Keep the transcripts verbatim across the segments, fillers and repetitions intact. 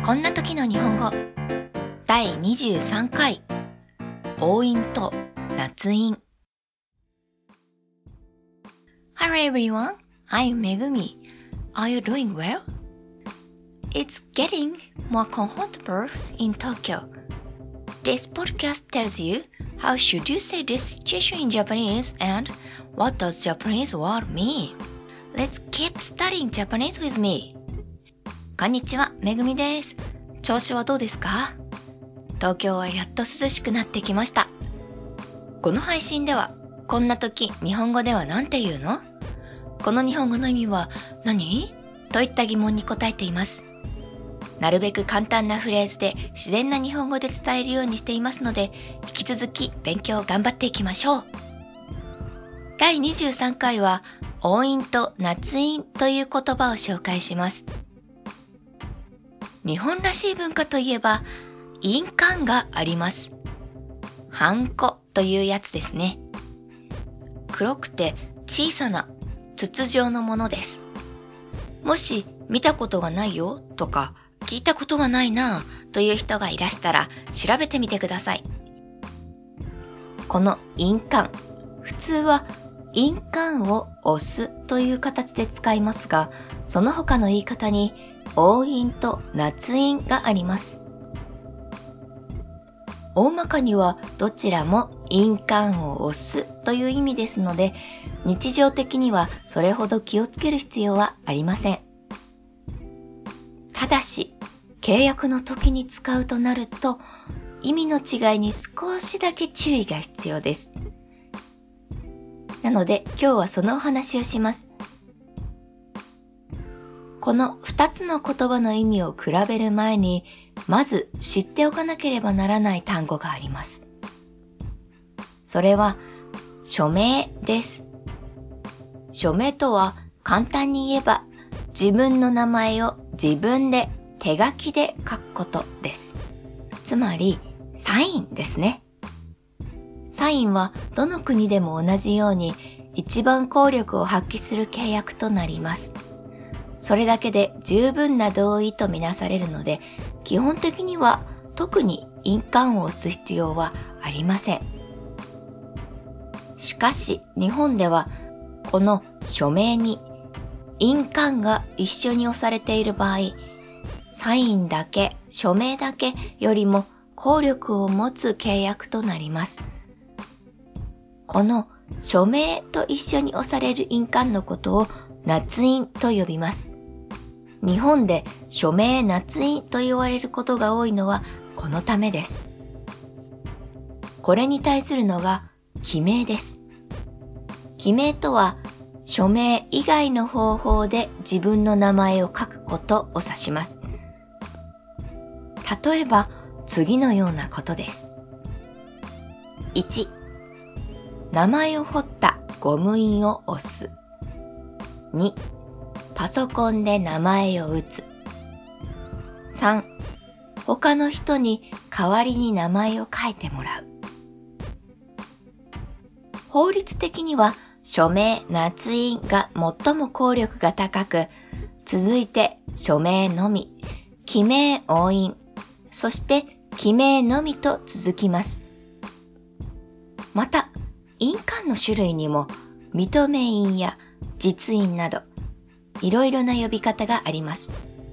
こんな時の日本語だいにじゅうさんかい応印と捺印。 Hello everyone, I'm Megumi. Are you doing well? It's getting more comfortable in Tokyo. This podcast tells you how should you say this situation in Japanese and what does Japanese word mean. Let's keep studying Japanese with me. こんにちは、めぐみです。調子はどうですか？東京はやっと涼しくなってきました。この配信では、こんな時日本語では何て言うの？この日本語の意味は何？といった疑問に答えています。なるべく簡単なフレーズで自然な日本語で伝えるようにしていますので、引き続き勉強を頑張っていきましょう。だいにじゅうさんかいは、応印と捺印という言葉を紹介します。日本らしい文化といえば、印鑑があります。ハンコというやつですね。黒くて小さな筒状のものです。もし見たことがないよとか聞いたことがないなという人がいらしたら調べてみてください。この印鑑、普通は印鑑を押すという形で使いますが、その他の言い方に応印と捺印があります。大まかにはどちらも印鑑を押すという意味ですので、日常的にはそれほど気をつける必要はありません。ただし、契約の時に使うとなると、意味の違いに少しだけ注意が必要です。なので今日はそのお話をします。この二つの言葉の意味を比べる前に、まず知っておかなければならない単語があります。それは、署名です。署名とは簡単に言えば、自分の名前を自分で手書きで書くことです。つまり、サインですね。サインはどの国でも同じように一番効力を発揮する契約となります。それだけで十分な同意とみなされるので、基本的には特に印鑑を押す必要はありません。しかし日本ではこの署名に印鑑が一緒に押されている場合、サインだけ、署名だけよりも効力を持つ契約となります。この署名と一緒に押される印鑑のことを捺印と呼びます。日本で署名捺印と言われることが多いのはこのためです。これに対するのが記名です。記名とは署名以外の方法で自分の名前を書くことを指します。例えば次のようなことです。いち、名前を彫ったゴム印を押す。に、パソコンで名前を打つ。さん、他の人に代わりに名前を書いてもらう。法律的には署名捺印が最も効力が高く、続いて署名のみ、記名押印、そして記名のみと続きます。また、印鑑の種類にも認め印や実印などいろいろな呼び方があります。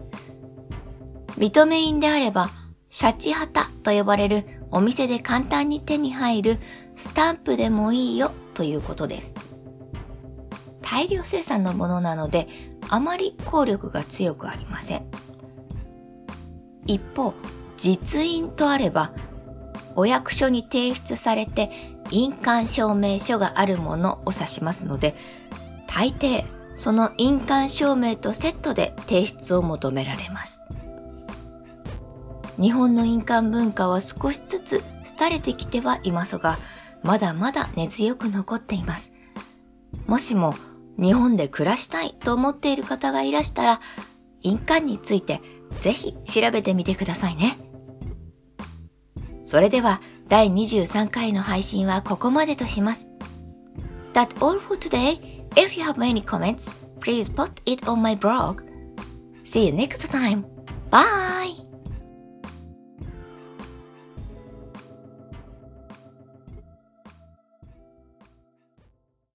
認め印であればシャチハタと呼ばれるお店で簡単に手に入るスタンプでもいいよということです。大量生産のものなのであまり効力が強くありません。一方、実印とあればお役所に提出されて印鑑証明書があるものを指しますので、大抵その印鑑証明とセットで提出を求められます。日本の印鑑文化は少しずつ廃れてきてはいますが、まだまだ根強く残っています。もしも日本で暮らしたいと思っている方がいらしたら、印鑑についてぜひ調べてみてくださいね。それではだいにじゅうさんかいの配信はここまでとします。That's all for today. If you have any comments, please post it on my blog. See you next time. Bye!